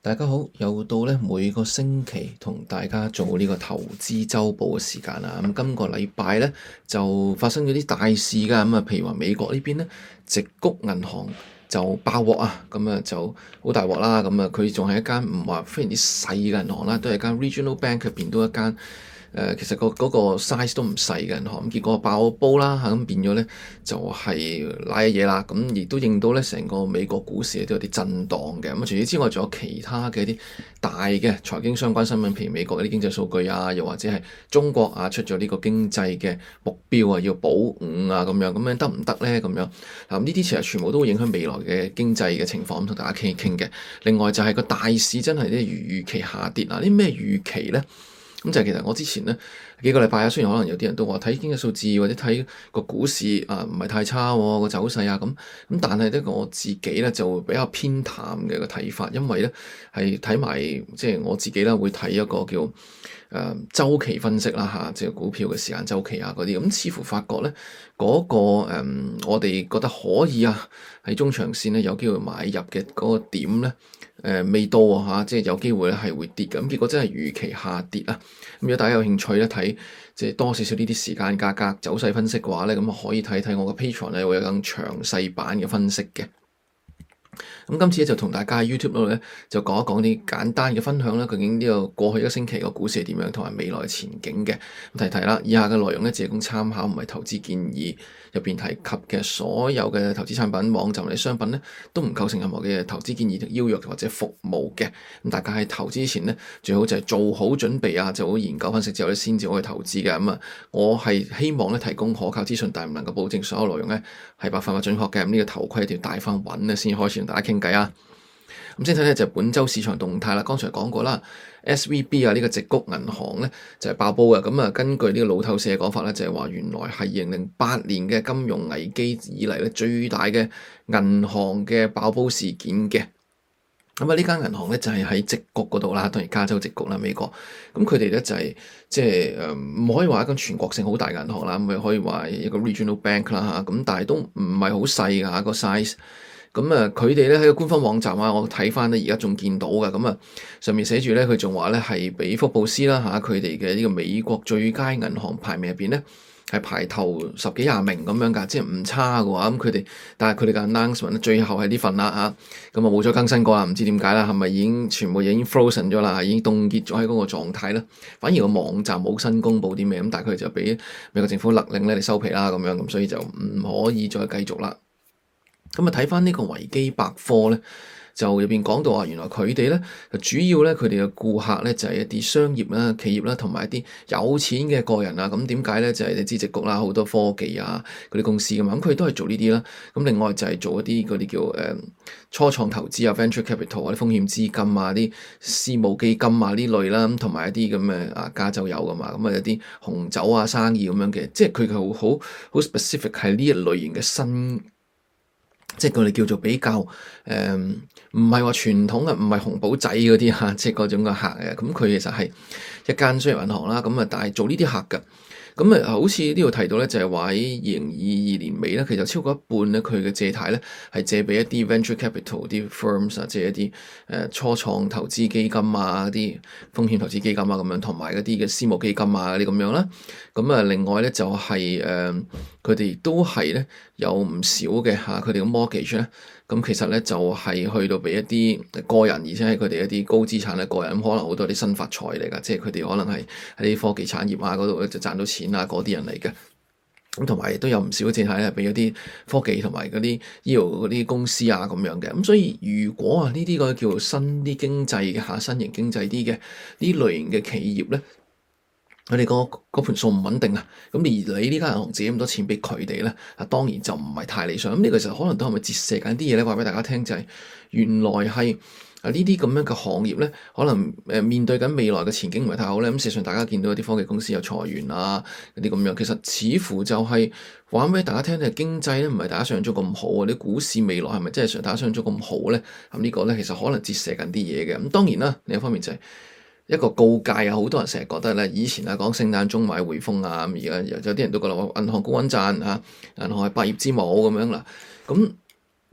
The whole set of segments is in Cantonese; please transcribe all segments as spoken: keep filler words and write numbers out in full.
大家好，又到咧每個星期同大家做呢個投資週報嘅時間啦。咁今個禮拜咧就發生咗啲大事㗎。咁啊，譬如話美國呢邊咧，矽谷銀行就爆鑊啊，咁啊就好大鑊啦。咁啊，佢仲係一間唔話非常之細嘅銀行啦，都係間 regional bank 入邊都一間。誒、呃、其實個嗰個 size 都唔細嘅銀行，咁結果爆煲啦嚇，咁變咗咧就係拉嘢啦，咁亦都認到咧成個美國股市都有啲震盪嘅。咁除此之外，仲有其他嘅一啲大嘅財經相關新聞，譬如美國嗰啲經濟數據啊，又或者係中國啊出咗呢個經濟嘅目標啊，要保五啊咁樣，咁樣得唔得咧？咁樣嗱，呢啲其實全部都會影響未來嘅經濟嘅情況，咁同大家傾一傾嘅。另外就係個大市真係啲如預期下跌啊！啲咩預期咧？咁就係其實我之前咧幾個禮拜啊，雖然可能有啲人都話睇經濟數字或者睇個股市啊唔係太差喎，個走勢啊咁，咁但係咧我自己咧就會比較偏淡嘅個睇法，因為咧係睇埋即係我自己啦會睇一個叫誒、呃、週期分析啦嚇，即係股票嘅時間週期啊嗰啲，咁似乎發覺咧嗰、那個、呃、我哋覺得可以啊喺中長線咧有機會買入嘅嗰個點咧。誒、呃、未到啊嚇，即係有機會咧係會跌嘅，咁結果真係預期下跌啊！咁如果大家有興趣咧睇即係多少少呢啲時間價格走勢分析嘅話咧，咁可以睇睇我嘅 Patreon 咧會有更詳細版嘅分析嘅。咁今次咧就同大家喺 YouTube 度咧就講一講啲簡單嘅分享啦，究竟呢個過去一個星期個股市係點樣，同埋未來前景嘅。咁提提啦，以下嘅內容咧只供參考，唔係投資建議。入邊提及嘅所有嘅投資產品、網站或者商品咧，都唔構成任何嘅投資建議、邀約或者服務嘅。咁大家喺投資之前咧，最好就係做好準備啊，做好研究分析之後咧，先至可以投資嘅。咁啊，我係希望咧提供可靠資訊，但係唔能夠保證所有內容咧係百分百準確嘅。咁呢個頭盔一定要戴翻穩咧，先開始同大家傾偈啊！咁先睇睇就係本週市場動態啦。剛才講過啦 ，S V B 啊呢個矽谷銀行咧就係爆煲嘅。咁啊，根據呢個路透社講法咧，就係話原來係二零零八年嘅金融危機以嚟咧最大嘅銀行嘅爆煲事件嘅。咁啊，呢間銀行咧就係喺矽谷嗰度啦，當然加州矽谷啦，美國。咁佢哋咧就係即係誒唔可以話一間全國性好大嘅銀行啦，咁咪可以話一個 regional bank 啦嚇。咁但係都唔係好細㗎嚇個 size。咁啊，佢哋咧喺個官方網站啊，我睇翻咧而家仲見到嘅，咁啊上面寫住咧，佢仲話咧係比福布斯啦嚇，佢哋嘅呢個美國最佳銀行排名入邊咧係排頭十幾廿名咁樣㗎，即係唔差嘅話，咁佢哋但係佢哋嘅 announcement 咧最後係呢份啦嚇，咁啊冇咗更新過啦，唔知點解啦，係咪已經全部已經 frozen 咗啦，已經凍結咗喺嗰個狀態啦，反而個網站冇新公佈啲咩，咁但係佢就俾美國政府勒令咧嚟收皮啦咁樣，咁所以就唔可以再繼續啦。咁啊，睇翻呢個維基百科咧，就入邊講到話，原來佢哋咧主要咧，佢哋嘅顧客咧就係一啲商業啦、企業啦，同埋一啲有錢嘅個人啊。咁點解咧？就係你知矽谷啦，好多科技啊嗰啲公司噶嘛。咁佢哋都係做呢啲啦。咁另外就係做一啲嗰啲叫誒、呃、初創投資啊、venture capital 啊、啲風險資金啊、啲私募基金啊呢類啦，同埋一啲咁嘅啊加州有噶嘛。咁啊有啲紅酒啊生意咁樣嘅，即係佢係好好好 specific 係呢一類型嘅新。即係佢哋叫做比較誒，唔係話傳統啊，唔係紅寶仔嗰啲嚇，即係嗰種嘅客嘅。咁佢其實係一間商業銀行啦，咁啊，但係做呢啲客嘅。咁啊，好似呢度提到咧，就係話喺二零二二年尾咧，其實超過一半咧，佢嘅借貸咧係借俾一啲 venture capital 啲 firms 啊，即係一啲誒初創投資基金啊，啲風險投資基金啊咁樣，同埋嗰啲嘅私募基金啊嗰啲咁樣啦。咁啊，另外咧就係、是、誒，佢哋都係咧有唔少嘅嚇，佢哋嘅 mortgage 咧。咁其實咧就係去到俾一啲個人，而且係佢哋一啲高資產嘅個人，咁可能好多啲新發財嚟㗎，即係佢哋可能係喺啲科技產業啊嗰度咧就賺到錢啊嗰啲人嚟嘅。咁同埋亦都有唔少嘅借貸咧，俾一啲科技同埋嗰啲醫療嗰啲公司啊咁樣嘅。咁所以如果啊呢啲個叫做新啲經濟嘅嚇，新型經濟啲嘅呢類型嘅企業咧，佢哋個嗰盤數唔穩定啊，咁而你呢間銀行借咁多錢俾佢哋咧，啊當然就唔係太理想。咁呢個其實可能都係咪折射緊啲嘢咧？話俾大家聽就係、是、原來係啊呢啲咁樣嘅行業咧，可能誒面對緊未來嘅前景唔係太好咧。咁事實上大家見到有啲科技公司有裁員啊，嗰啲咁樣，其實似乎就係話俾大家聽咧，經濟咧唔係大家想象中咁好啊，啲股市未來係咪真係像大家想象中咁好咧？咁呢個咧其實可能折射緊啲嘢嘅。咁當然啦，另一方面就係、是。一個告誡啊！好多人成日覺得咧，以前啊講聖誕鐘買匯豐啊，咁而家有啲人都覺得話銀行高穩賺嚇，銀行係百業之母咁樣啦。咁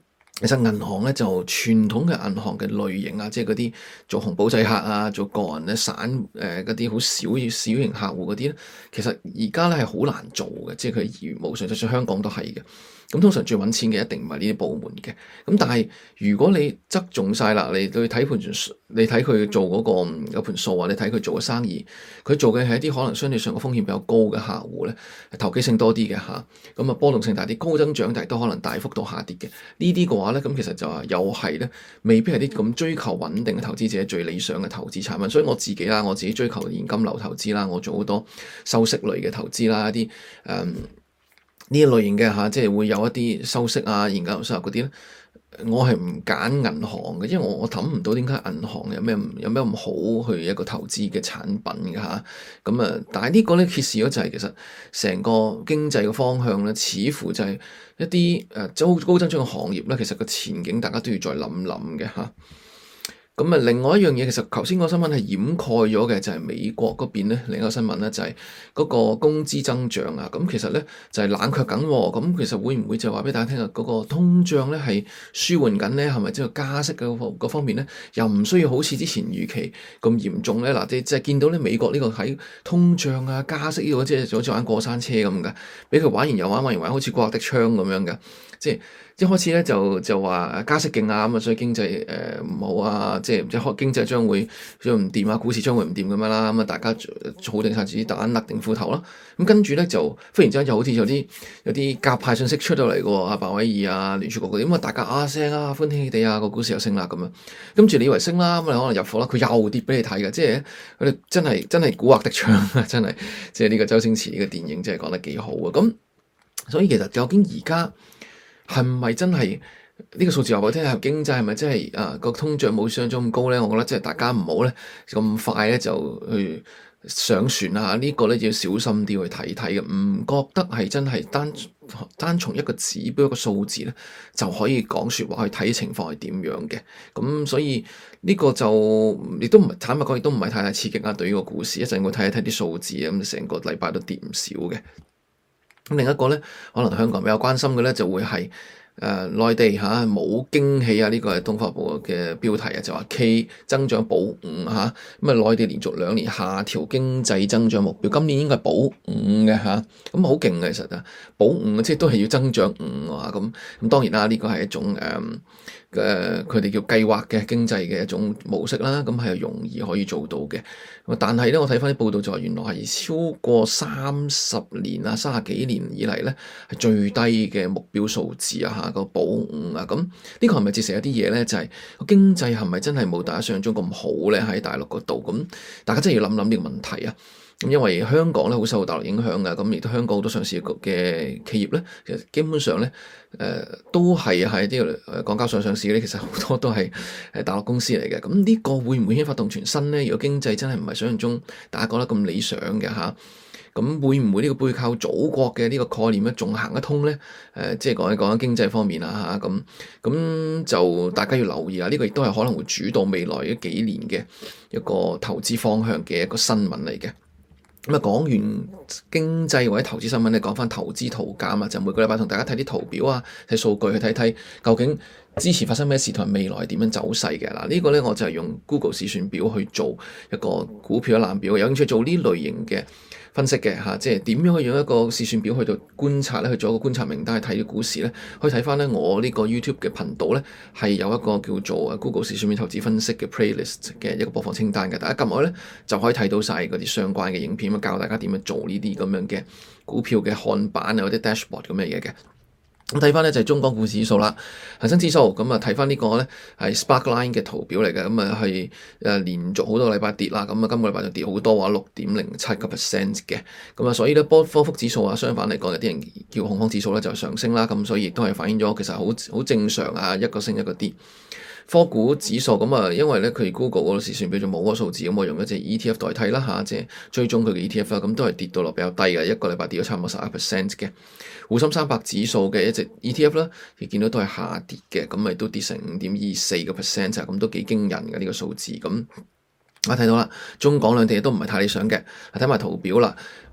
其實銀行咧就傳統嘅銀行嘅類型啊，即係嗰啲做紅簿仔客啊，做個人咧散誒嗰啲好小小型客戶嗰啲咧，其實而家咧係好難做嘅，即係佢業務上，就算香港都係嘅。咁通常最揾錢嘅一定唔係呢啲部門嘅。咁但係如果你側重晒啦，你去睇盤，你睇佢做嗰個有盤數啊，你睇佢做嘅生意，佢做嘅係一啲可能相對上個風險比較高嘅客戶咧，投機性多啲嘅嚇，咁啊波動性大啲，高增長但係都可能大幅度下跌嘅呢啲嘅話咧，咁其實就係又係咧，未必係啲咁追求穩定嘅投資者最理想嘅投資產品。所以我自己啦，我自己追求現金流投資啦，我做好多收息類嘅投資啦，一啲誒。嗯呢一類型嘅嚇，即係會有一啲收息啊、現金流收入嗰啲咧，我係唔揀銀行嘅，因為我我諗唔到點解銀行有咩有咩咁好去一個投資嘅產品嘅嚇。咁啊，但係呢個咧揭示咗就係其實成個經濟嘅方向咧，似乎就係一啲誒高高增長嘅行業咧，其實個前景大家都要再諗諗嘅嚇。咁啊，另外一樣嘢，其實頭先個新聞係掩蓋咗嘅，就係美國嗰邊咧，另一個新聞咧就係嗰個工資增長啊。咁其實咧就係冷卻緊，咁其實會唔會就話俾大家聽啊？嗰個通脹咧係舒緩緊咧，係咪即係加息嘅嗰方面咧，又唔需要好似之前預期咁嚴重咧？嗱，即係見到咧美國呢個喺通脹啊、加息呢個即係好似玩過山車咁嘅，俾佢玩完又玩，玩完玩，好似刮的槍咁樣嘅，即係。一開始咧就就話加息勁啊，咁啊所以經濟誒唔好啊，即係即係經濟將會將唔掂啊，股市將會唔掂咁樣啦，咁啊大家儲定晒自己蛋，勒定褲頭啦。咁跟住咧就忽然之間又好似有啲有啲鴿派信息出到嚟嘅喎，阿鮑威爾啊、聯儲局嗰啲，咁啊大家啊聲啊歡天喜地啊，個股市又升啦咁樣。跟住你以為升啦，咁你可能入貨啦，佢又跌俾你睇嘅，即係佢哋真係真係蠱惑的槍啊，真係即係呢個周星馳呢個電影真係講得幾好啊。咁所以其實究竟而家係唔係真係呢個數字話俾我聽係經濟係咪真係啊個通脹冇想像中咁高咧？我覺得即係大家唔好咧咁快咧就去上船啊！這個、呢個咧要小心啲去睇睇嘅，唔覺得係真係單單從一個指標一個數字咧就可以講説話去睇情況係點樣嘅。咁所以呢個就亦都唔係坦白講，亦都唔係太太刺激啊！對於個股市，一陣我睇一睇啲數字啊，咁成個禮拜都跌唔少嘅。咁另一個咧，可能香港比較關心嘅咧，就會係誒內地嚇冇驚喜啊！呢、這個係東方日報嘅標題啊，就話 K 增長保五嚇，咁啊內地連續兩年下調經濟增長目標，今年應該係保五嘅嚇，咁好勁嘅其實啊，保五即係都係要增長五啊，咁咁當然啦，呢、這個係一種誒。嗯誒佢哋叫計劃嘅經濟嘅一種模式啦，咁係容易可以做到嘅。但係咧，我睇翻啲報道就話，原來係超過三十年啊，三十幾年以嚟咧係最低嘅目標數字啊，嚇個保五啊，咁呢個係咪折射一啲嘢咧？就係、是、個經濟係咪真係冇大家想象中咁好咧？喺大陸嗰度，咁大家真係要諗諗呢個問題啊！咁因為香港咧好受大陸影響嘅，咁亦都香港好多上市嘅企業咧，其實基本上咧，誒、呃、都係喺啲誒港交所上市嘅咧，其實好多都係誒大陸公司嚟嘅。咁呢個會唔會牽發動全身咧？如果經濟真係唔係想象中大家覺得咁理想嘅嚇，咁會唔會呢個背靠祖國嘅呢個概念咧，仲行得通咧？誒、呃，即係講一講經濟方面啊嚇，咁咁就大家要留意啊！呢、這個亦都係可能會主導未來嘅幾年嘅一個投資方向嘅一個新聞嚟嘅。咁啊，講完經濟或者投資新聞咧，講翻投資圖鑑啊，就每個禮拜同大家睇啲圖表啊，睇數據去睇睇究竟之前發生咩事同埋未來係點樣走勢嘅。嗱，呢個咧我就係用 Google 試算表去做一個股票一覽表，有興趣做呢類型嘅分析嘅嚇，即係點樣去用一個試算表去到觀察咧，去做一個觀察名單去睇啲股市咧，可以睇翻咧我呢個 YouTube 嘅頻道咧係有一個叫做 Google 試算表投資分析嘅 playlist 嘅一個播放清單嘅，大家撳落去咧就可以睇到晒嗰啲相關嘅影片，咁教大家點樣做呢啲咁樣嘅股票嘅看板啊，或者 dashboard 咁嘅嘢嘅。咁睇翻咧就係中港股指數啦，恒生指數咁啊睇翻呢個咧係 Sparkline 嘅圖表嚟嘅，咁啊係誒連續好多個禮拜跌啦，咁啊今個禮拜就跌好多話六點零七個 percent 嘅，咁啊所以咧波科福指數啊相反嚟講有啲人叫恐慌指數咧就上升啦，咁所以亦都係反映咗其實好好正常啊，一個升一個跌。科股指數咁啊，因為咧佢 Google 嗰個試算表就冇嗰個數字，咁我用一隻 E T F 代替啦嚇，即係追蹤佢嘅 E T F 啦，咁都係跌到落比較低嘅，一個禮拜跌咗差唔多十一 percent 嘅。滬深三百指數嘅一隻 E T F 啦，亦見到都係下跌嘅，咁咪都跌成五點二四個 percent 啊，咁都幾驚人嘅呢個數字。咁我睇到啦，中港兩地都唔係太理想嘅，睇埋圖表啦。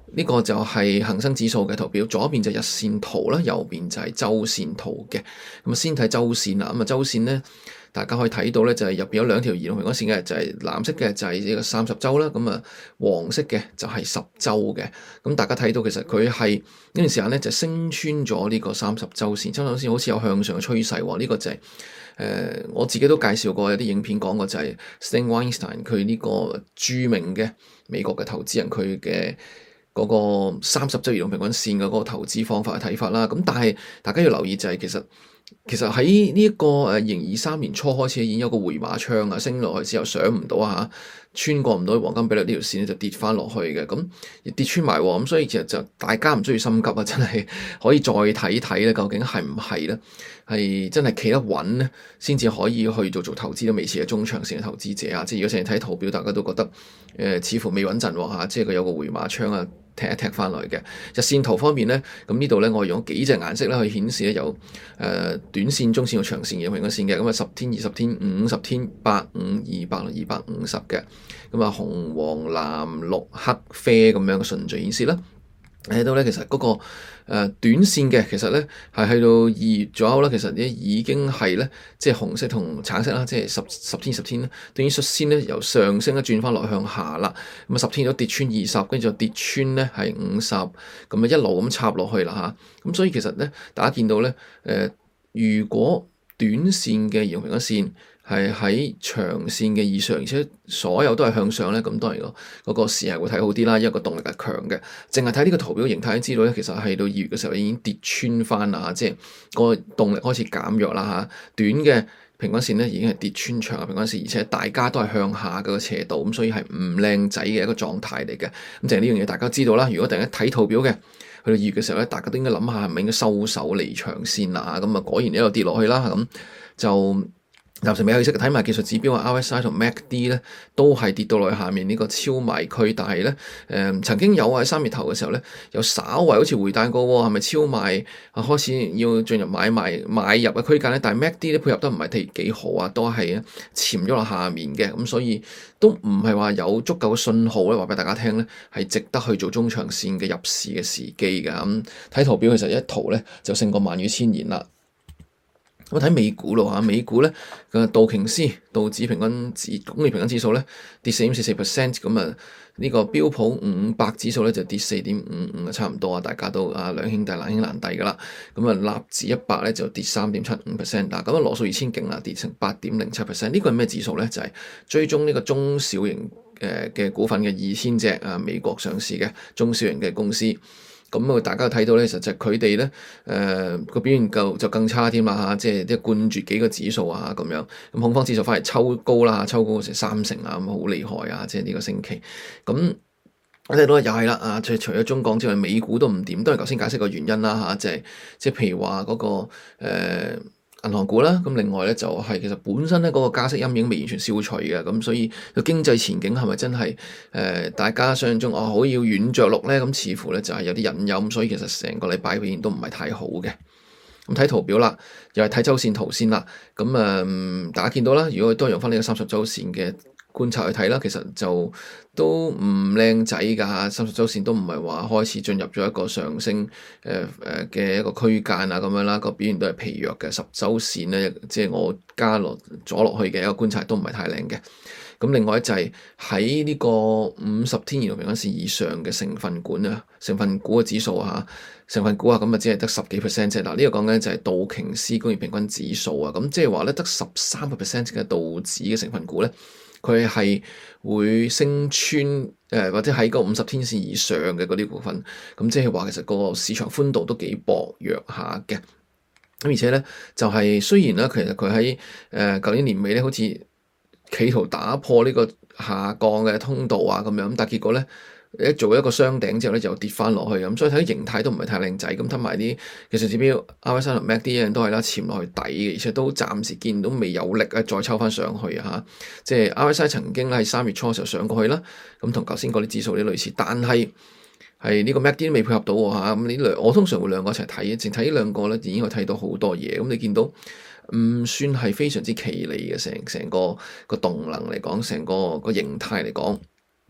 呢個就係恒生指數嘅圖表，左邊就係日線圖啦，右邊就係周線圖嘅。咁啊，先睇周線啦。咁啊，周線咧，大家可以睇到咧，就係入邊有兩條移動平均線嘅，就係藍色嘅就係呢個三十週啦。咁啊，黃色嘅就係十週嘅。咁大家睇到其實佢係呢段時間咧就升穿咗呢個三十週線，三十週線好似有向上嘅趨勢喎。呢個就係誒我自己都介紹過，有啲影片講過，就係 Stan Weinstein 佢呢個著名嘅美國嘅投資人佢嘅嗰個三十週移動平均線嘅嗰個投資方法嘅睇法啦，咁但係大家要留意就係其實其實喺呢一個誒二零二三年初開始已經有個回馬槍啊，升落去之後上唔到啊，穿過唔到黃金比率呢條線就跌翻落去嘅，咁跌穿埋喎，咁所以其實就大家唔需要心急啊，真係可以再睇睇咧，究竟係唔係咧？係真係企得穩咧，先至可以去做做投資都未遲嘅中長線嘅投資者啊！即係如果成日睇圖表，大家都覺得誒、呃、似乎未穩陣喎嚇，即係佢有個回馬槍啊，踢一踢翻來嘅。日線圖方面咧，咁呢度咧我用幾隻顏色咧去顯示咧有誒、呃、短線、中線同長線嘅平均線嘅，咁啊十天、二十天、五十天、百五、二百、二百五十嘅，咁啊紅、黃、藍、綠、黑、啡咁樣嘅順序顯示啦。睇到咧，其實嗰、那個誒、呃、短線嘅，其實咧係去到二月左右啦，其實咧已經係咧即係紅色同橙色啦，即係十十天十天咧，等於率先咧由上升咧轉翻落向下啦。咁啊十天都跌穿二十，跟住就跌穿咧係五十，咁啊一路咁插落去啦嚇。咁所以其實咧，大家見到咧誒、呃，如果短線嘅移動平均線係喺長線嘅以上，而且所有都係向上咧，咁當然個嗰個市係會睇好啲啦，因為個動力係強嘅。淨係睇呢個圖表形態都知道咧，其實係到二月嘅時候已經跌穿翻啦，即係個動力開始減弱啦嚇。短嘅平均線咧已經係跌穿長嘅平均線，而且大家都係向下嘅個斜度，咁所以係唔靚仔嘅一個狀態嚟嘅。咁淨係呢樣嘢大家知道啦。如果突然間睇圖表嘅，去到二月嘅時候咧，大家都應該諗下係咪應該收手離場先啦。咁啊果然一路跌落去啦，咁就。暫時未去識睇埋技術指標啊 ，R S I 同 M A C D 咧都係跌到落去下面呢個超賣區，但係咧誒曾經有喺三月頭嘅時候咧，有稍為好似回彈過喎，係咪超賣啊開始要進入買賣買入嘅區間咧？但係 M A C D 咧配合得唔係幾幾好啊，都係潛咗落下面嘅，咁所以都唔係話有足夠嘅信號咧，話俾大家聽咧係值得去做中長線嘅入市嘅時機嘅。咁睇圖表其實一圖咧就勝過萬語千言啦。我睇美股咯嚇，美股咧個道瓊斯道指平均指工業平均指數咧跌四點四四 percent，咁啊呢個標普五百指數咧就跌四點五五啊，差唔多啊，大家都啊兩兄弟難兄難弟噶啦。咁啊納指一百咧就跌三點七五 percent，嗱咁啊羅素二千勁啦，跌成八點零七 percent。呢個係咩指數咧？就係、是、追蹤呢個中小型誒嘅股份嘅二千隻啊美國上市嘅中小型嘅公司。咁啊，大家睇到咧，實際佢哋咧，誒、呃、個表現就就更差添啦嚇，即係即係冠絕幾個指數啊咁樣。咁恐慌指數反而抽高啦，抽高成三成啊，咁好厲害啊！即係呢個星期。咁我睇到又係啦啊，即係除咗中港之外，美股都唔掂，都係頭先解釋個原因啦嚇，即係即係譬如話嗰、那個誒。呃銀行股啦，咁另外咧就係其實本身咧嗰個加息陰影未完全消除嘅，咁所以個經濟前景係咪真係誒、呃、大家想象中哦好要軟着陸咧？咁似乎咧就係有啲隱憂，咁所以其實成個禮拜表現都唔係太好嘅。咁睇圖表啦，又係睇周線圖先啦。咁誒、呃、大家見到啦，如果都用翻呢個三十週線嘅觀察去睇啦，其實就都唔靚仔㗎，三十週線都唔係話開始進入咗一個上升誒誒嘅一個區間啊咁樣啦，個表現都係疲弱嘅。十週線咧，即係我加落咗落去嘅一個觀察都唔係太靚嘅。咁另外就係喺呢個五十天移動平均線以上嘅成分股啊，成分股嘅指數啊，成分股啊，咁啊只係得十幾 percent 啫。嗱，呢個講緊就係道瓊斯工業平均指數啊，咁即係話咧得十三個 percent 嘅道指嘅成分股咧，佢係會升穿誒、呃、或者喺個五十天線以上嘅嗰啲股份，咁即係話其實個市場寬度都幾薄弱下嘅。咁而且咧就係、是、雖然咧其實佢喺誒舊年年尾咧好似企圖打破呢個下降嘅通道啊咁樣，咁但係結果咧一做一個雙頂之後咧就跌翻落去，咁所以睇形態都唔係太靚仔。咁睇埋啲技術指標 R S I 同 M A C D 都係啦，潛落去底嘅，而且都暫時見到未有力啊再抽翻上去啊，即係 R S I 曾經喺三月初嘅時候上過去啦，咁同頭先嗰啲指數啲類似，但係係呢個 M A C D 都未配合到喎嚇。咁呢兩我通常會兩個一齊睇嘅，淨睇呢兩個咧已經可以睇到好多嘢。咁你見到唔算係非常之奇離嘅，成成個個動能嚟講，成個個形態嚟講。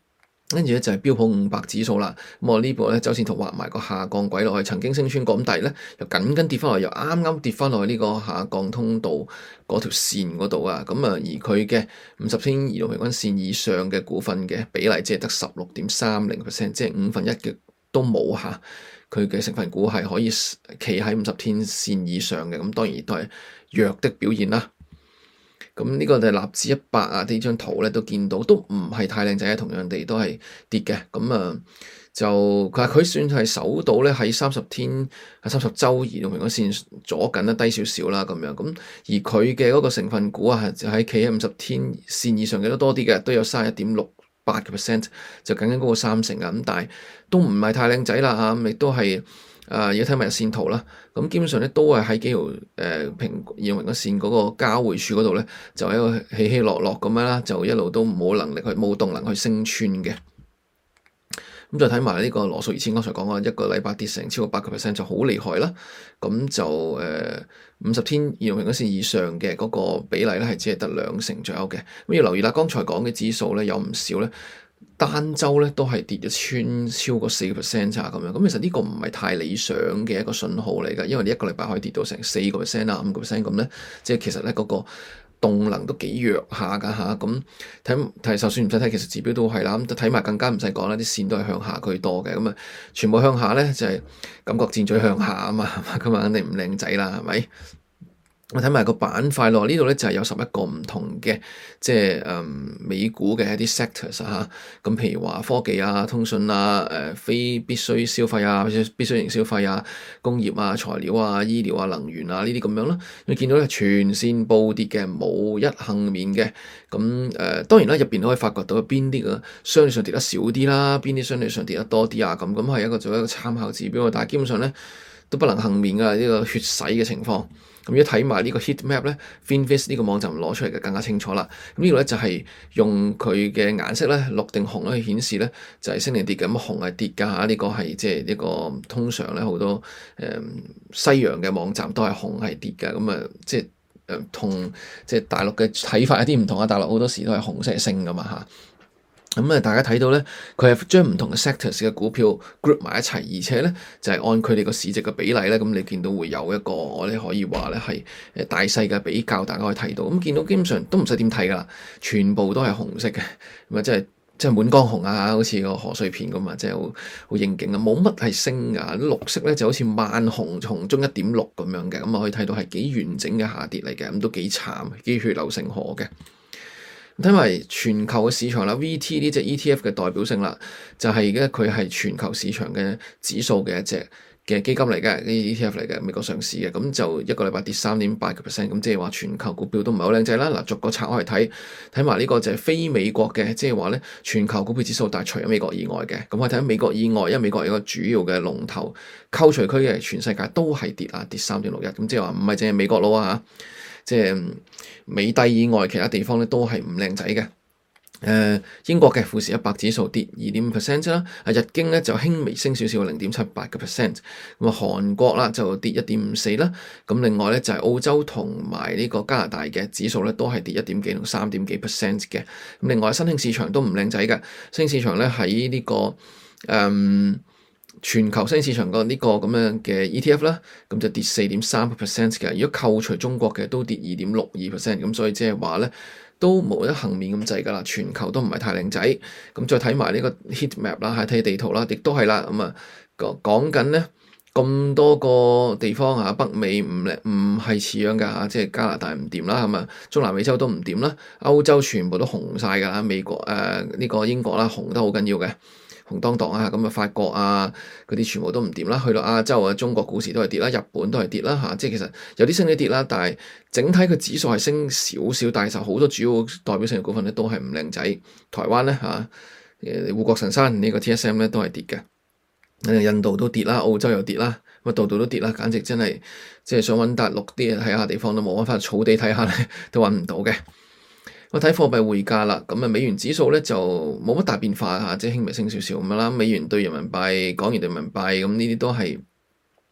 跟住咧就係標普五百指數啦，咁我呢部咧周線圖畫埋個下降軌落去，曾經升穿過，咁但係咧又緊緊跌翻落，又啱啱跌翻落去呢個下降通道嗰條線嗰度啊，咁啊而佢嘅五十天移動平均線以上嘅股份嘅比例只係得十六點三零 percent， 即係五分一嘅都冇嚇，佢嘅成分股係可以企喺五十天線以上嘅，咁當然都係弱的表現啦。咁呢個就係納指一百啊，呢張圖咧都見到，都唔係太靚仔，同樣地都係跌嘅。咁啊，就佢話佢算係守到咧喺三十天、喺三十週移動平均線左緊啦，低少少啦咁樣。咁而佢嘅嗰個成分股啊，就喺企喺五十天線以上嘅都多啲嘅，都有三十一點六八個 percent，就緊緊嗰個三成啊。咁但係都唔係太靚仔啦嚇，亦都係。啊，要睇埋日線圖啦，咁基本上咧都係喺幾條誒平移動平均線嗰個交匯處嗰度咧，就喺度起起落落咁樣啦，就一路都冇能力去冇動能去升穿嘅。咁再睇埋呢個羅素二千，剛才講過一個禮拜跌成超過八個 percent 就好厲害啦。咁就誒五十天移動平均線以上嘅嗰個比例咧係只係得兩成左右嘅。咁要留意啦，剛才講嘅指數咧有唔少咧。單週咧都係跌咗穿超過四個 percent 咋咁樣，咁其實呢個唔係太理想嘅一個信號嚟㗎，因為你一個禮拜可以跌到成四個 percent 啊五個 percent 咁咧，即係其實咧嗰個動能都幾弱下㗎嚇，咁睇睇就算唔使睇，其實指標都係啦，咁睇埋更加唔使講啦，啲線都係向下居多嘅，咁啊全部向下咧就係、是、感覺箭嘴向下啊嘛，咁啊肯定唔靚仔啦，係咪？我睇埋個板塊咯，呢度咧就係有十一個唔同嘅，即係誒、嗯、美股嘅一啲 sectors 啊，咁譬如話科技啊、通訊啊、誒、呃、非必須消費啊、必須型消費啊、工業啊、材料啊、醫療啊、能源啊呢啲咁樣啦，你見到咧全線暴跌嘅，冇一幸免嘅，咁誒、呃、當然啦，入邊都可以發掘到邊啲嘅相對上跌得少啲啦，邊啲相對上跌得多啲啊，咁咁係一個做一個參考指標，但係基本上咧都不能幸免㗎呢個血洗嘅情況。咁一睇埋呢個 heat map 咧 Finviz 呢個網站攞出嚟嘅更加清楚啦。咁呢個咧就係用佢嘅顏色咧綠定紅咧去顯示咧就係、是、升定跌嘅。咁紅係跌㗎嚇，呢、這個係即係呢個通常咧好多誒、嗯、西洋嘅網站都係紅係跌嘅。咁啊即係誒同即係大陸嘅睇法有啲唔同啊。大陸好多時都係紅色係升㗎嘛嚇。咁啊，大家睇到咧，佢係將唔同嘅 sectors 嘅股票 group 埋一齊，而且咧就係、是、按佢哋個市值嘅比例咧，咁你見到會有一個我哋可以話咧係誒大細嘅比較，大家可以睇到。咁見到基本上都唔使點睇噶啦，全部都係紅色嘅，咁啊即係即係滿江紅啊，好似個賀歲片咁啊，即係好好應景啊，冇乜係升噶，綠色咧就好似萬紅紅中一點六咁樣嘅，咁啊可以睇到係幾完整嘅下跌嚟嘅，咁都幾慘，幾血流成河嘅。睇埋全球嘅市場啦 ，V T 呢隻 E T F 嘅代表性啦，就係咧佢係全球市場嘅指數嘅一隻嘅基金嚟嘅，呢 E T F 嚟嘅，美國上市嘅，咁就一個禮拜跌三點八個 percent，咁即係話全球股票都唔係好靚仔啦。嗱，逐個拆開嚟睇，睇埋呢個就係非美國嘅，即係話咧全球股票指數，但係除咗美國以外嘅，咁我睇下美國以外，因為美國有一個主要嘅龍頭扣除區嘅，全世界都係跌啊，跌三點六一，咁即係話唔係淨係美國佬啊。即係美帝以外，其他地方咧都係唔靚仔嘅。誒、呃，英國嘅富時一百指數跌二點五 percent 啫啦。啊，日經咧就輕微升少少，零點七八個 percent。咁啊，韓國啦就跌一點五四啦。咁另外咧就係、是、澳洲同埋呢個加拿大嘅指數咧都係跌一點幾同三點幾 percent 嘅。咁另外新興市場都唔靚仔嘅，新興市場咧喺呢個誒。嗯全球新興市場個呢個咁樣嘅 E T F 啦，咁就跌四點三個 percent 嘅。如果扣除中國嘅，都跌二點六二 percent。咁所以即係話咧，都冇得幸免咁滯噶啦。全球都唔係太靚仔。咁再睇埋呢個 heat map 啦，睇地圖啦，亦都係啦。咁啊講講緊咧咁多個地方啊，北美唔靚唔係似樣噶嚇，即係加拿大唔掂啦，咁啊中南美洲都唔掂啦，歐洲全部都紅晒噶啦，美國誒呢、呃這個英國啦紅得好緊要嘅。紅當當啊，咁啊法國啊嗰啲全部都唔掂啦，去到亞洲啊，中國股市都係跌啦，日本都係跌啦嚇，即係其實有啲升啲跌啦，但係整體個指數係升少少，但係就好多主要代表性嘅股份咧都係唔靚仔。台灣咧嚇，誒護國神山呢個 T S M 咧都係跌嘅，印度都跌啦，澳洲又跌啦，咁啊度度都跌啦，簡直真係即係想揾笪綠啲睇下地方都冇，揾翻草地睇下咧都揾唔到嘅。我睇貨幣匯價啦，咁啊美元指數咧就冇乜大變化嚇，即係輕微升少少咁樣啦。美元對人民幣、港元對人民幣咁呢啲都係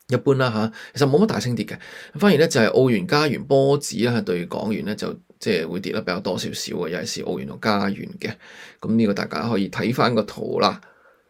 一般啦嚇，其實冇乜大升跌嘅，反而咧就係澳元加元波子啦對港元咧就即係會跌得比較多少少嘅，尤其是澳元同加元嘅。咁呢個大家可以睇翻個圖啦。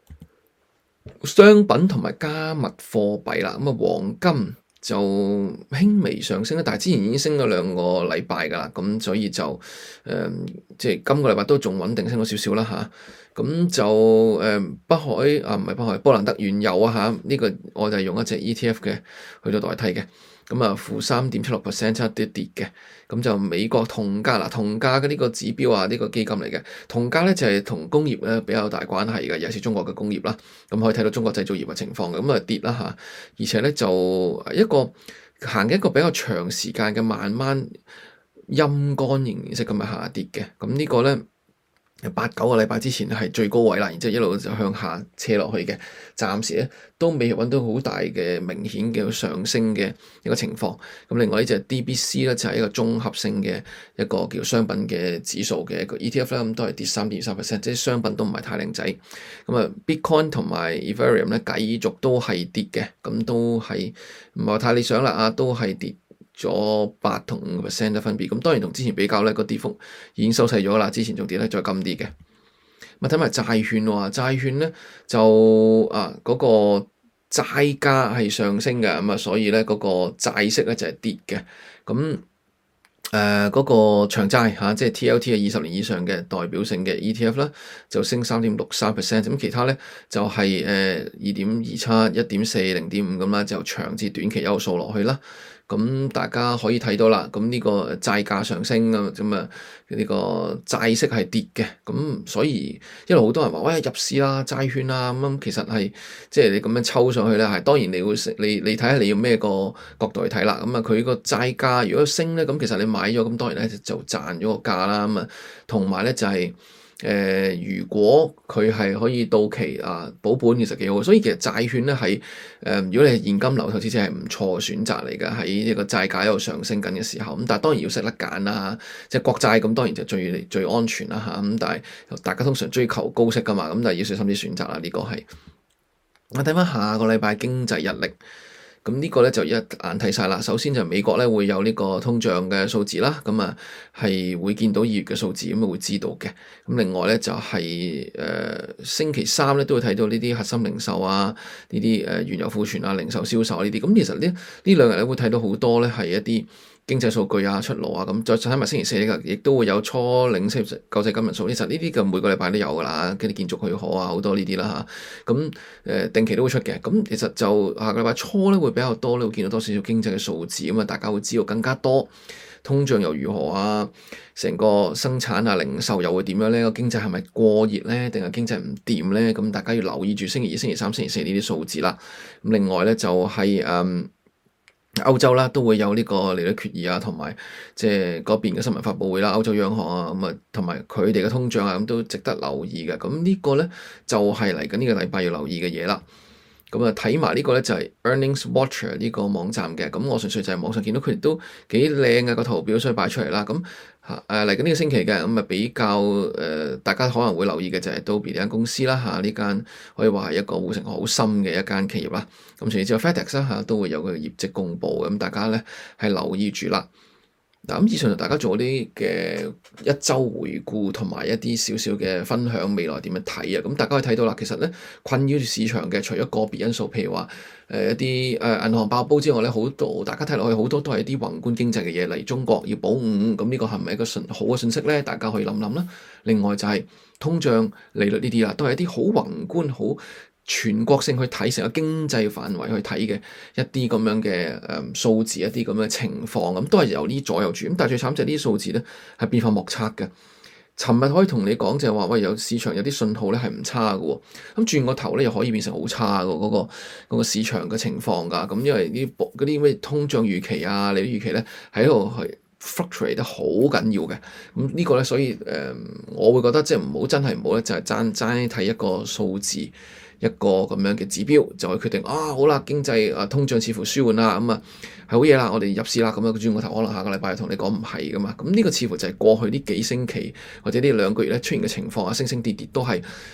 商品同埋加密貨幣啦，咁啊黃金就輕微上升啦，但係之前已經升咗兩個禮拜噶啦，咁所以就誒、呃、即係今個禮拜都仲穩定升咗少少啦嚇。咁就誒、呃、北海啊唔係北海，波蘭德原油啊嚇，呢、這個我就係用一隻 E T F 嘅去到代替嘅。咁啊，負三點七六 percent 差啲跌嘅，咁就美國銅價啦，銅價嘅呢個指標啊，呢、這個基金嚟嘅，銅價咧就係、是、同工業咧比較大關係嘅，尤其是中國嘅工業啦，咁可以睇到中國製造業嘅情況嘅，咁啊跌啦嚇，而且咧就一個行嘅一個比較長時間嘅慢慢陰乾形式咁嘅下跌嘅，咁呢個咧。八九個禮拜之前係最高位啦，然之後一路就向下斜落去嘅，暫時咧都未揾到好大嘅明顯嘅上升嘅一個情況。咁另外呢隻 D B C 咧就係一個綜合性嘅一個叫商品嘅指數嘅一個 E T F 啦，咁都係跌三點三 percent，即係商品都唔係太靚仔。咁啊，Bitcoin 同埋 Ethereum 咧繼續都係跌嘅，咁都係唔係太理想啦啊，都係跌咗八同五個 percent 嘅分別，咁當然同之前比較咧個跌幅已經收細咗啦，之前仲跌得再金啲嘅。咁睇埋債券喎，債券咧就啊嗰、那個債價係上升嘅，咁啊所以咧嗰、那個債息咧就係跌嘅。咁誒嗰個長債嚇、啊，即係 T L T 嘅二十年以上嘅代表性嘅 E T F 啦，就升三點六三 percent，咁其他咧就係誒二點二七、一點四、零點五咁啦，就長至短期一路掃落去啦。咁大家可以睇到啦，咁呢個債價上升啊，咁啊呢個債息係跌嘅，咁所以一路好多人話喂入市啦，債券啦，咁其實係即係你咁樣抽上去咧，係當然你會你你睇下你要咩個角度去睇啦，咁啊佢個債價如果升咧，咁其實你買咗，咁當然咧就賺咗個價啦，咁啊同埋咧就係、是。誒、呃，如果佢係可以到期啊保本，其實幾好，所以其實債券咧係誒，如果你係現金流投資者係唔錯嘅選擇嚟嘅，喺呢個債價喺度上升緊嘅時候，咁但係當然要識得揀啦，即係國債咁當然就最最安全啦嚇，咁但係大家通常追求高息噶嘛，咁但係要小心啲選擇啦，呢、這個係我睇翻下個禮拜經濟日曆。咁呢個咧就一眼睇晒啦。首先就美國咧會有呢個通脹嘅數字啦，咁啊係會見到二月嘅數字，咁啊會知道嘅。咁另外咧就係、是、誒、呃、星期三咧都會睇到呢啲核心零售啊，呢啲誒原油庫存啊、零售銷售呢啲。咁其實呢呢兩日咧會睇到好多咧係一啲經濟數據啊出爐啊，咁再睇埋星期四呢個亦都會有初領失業救濟金人數。其實呢啲嘅每個禮拜都有噶啦，跟住建築許可啊好多呢啲啦嚇。咁誒定期都會出嘅。咁其實就下個禮拜初咧會比較多咧，會見到多少少經濟嘅數字，咁啊大家會知道更加多通脹又如何啊，成個生產啊零售又會點樣咧？個經濟係咪過熱咧，定係經濟唔掂咧？咁大家要留意住星期二、星期三、星期四呢啲數字啦。咁另外咧就係、是、誒。嗯歐洲啦都會有呢個利率決議啊，同埋即係嗰邊嘅新聞發佈會啦，歐洲央行啊咁啊，同埋佢哋嘅通脹啊咁都值得留意嘅。咁呢個咧就係嚟緊呢個禮拜要留意嘅嘢啦。咁啊睇埋呢個咧就係 Earnings Watcher 呢個網站嘅。咁我純粹就係網上見到佢哋都幾靚嘅個圖表，所以擺出嚟啦。咁嚇誒嚟緊呢個星期嘅咁啊比較誒、呃，大家可能會留意嘅就係 Adobe 呢間公司啦嚇，呢間可以話係一個護城河好深嘅一間企業啦。咁除此之外 FedEx 啦嚇都會有佢嘅業績公佈，咁大家咧係留意住啦。嗱，咁以上就大家做啲嘅一週回顧同埋一啲少少嘅分享，未來點樣睇啊？咁大家可以睇到啦，其實咧困擾住市場嘅，除咗個別因素，譬如話誒、呃、一啲誒、呃、銀行爆煲之外咧，好多大家睇落去好多都係一啲宏觀經濟嘅嘢嚟，中國要保五，咁呢個係咪一個信好嘅信息咧？大家可以諗諗啦。另外就係通脹、利率呢啲啦，都係一啲好宏觀、好全國性去睇成個經濟範圍去睇嘅一啲咁樣嘅誒數字，一啲咁嘅情況，咁都係由呢左右住。咁但係最慘就係呢啲數字咧係變化莫測嘅。尋日可以同你講就係話，喂，有市場有啲信號咧係唔差嘅喎，咁轉個頭咧又可以變成好差嘅嗰、嗰個嗰個市場嘅情況㗎。咁因為呢嗰啲咩通脹預期啊、利率預期咧喺度係 fluctuate 得好緊要嘅。咁呢個咧，所以誒、呃，我會覺得即係唔好真係唔好咧，就係爭爭睇一個數字。一個咁樣嘅指標就係決定啊，好啦，經濟啊通脹似乎舒緩啦，咁啊係好嘢啦，我哋入市啦，咁樣轉個頭可能下個禮拜同你講唔係噶嘛，咁呢個似乎就係過去呢幾星期或者呢兩個月咧出現嘅情況啊，升升跌跌都係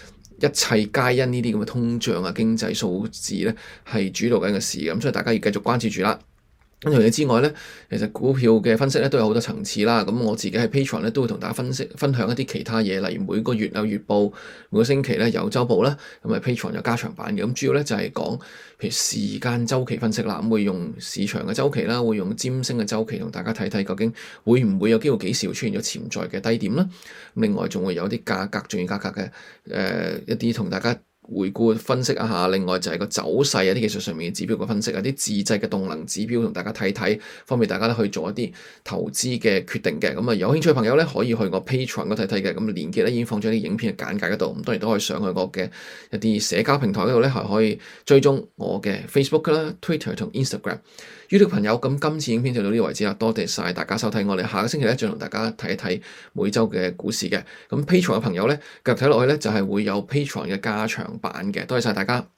一切皆因呢啲咁嘅通脹啊、經濟數字咧係主導緊嘅事，咁所以大家要繼續關注住啦。咁除此之外咧，其實股票嘅分析咧都有好多層次啦。咁我自己喺 Patreon 咧都會同大家分析分享一啲其他嘢，例如每個月有月報，每個星期咧有週報啦。咁啊 Patreon 有加長版嘅。咁主要咧就係講譬如時間週期分析啦，咁會用市場嘅週期啦，會用占星嘅週期同大家睇睇究竟會唔會有機會幾時會出現咗潛在嘅低點啦。另外仲會有啲價格、重要價格嘅誒、呃、一啲同大家回顧分析一下，另外就係個走勢啊，啲技術上面嘅指標嘅分析啊，啲自製嘅動能指標同大家睇睇，方便大家咧去做一啲投資嘅決定嘅。咁啊，有興趣嘅朋友咧可以去我 Patreon 嗰睇睇嘅，咁連結咧已經放咗啲影片嘅簡介嗰度，咁當然都可以上去我嘅一啲社交平台嗰度咧，係可以追蹤我嘅 Facebook 啦、Twitter 同 Instagram。YouTube 朋友，咁今次影片就到呢個為止啦，多謝晒大家收睇，我哋下個星期咧再同大家睇一睇每週嘅股市嘅。咁 Patreon 嘅朋友咧，繼續睇落去咧就係會有 Patreon 嘅加長版嘅，多謝晒大家。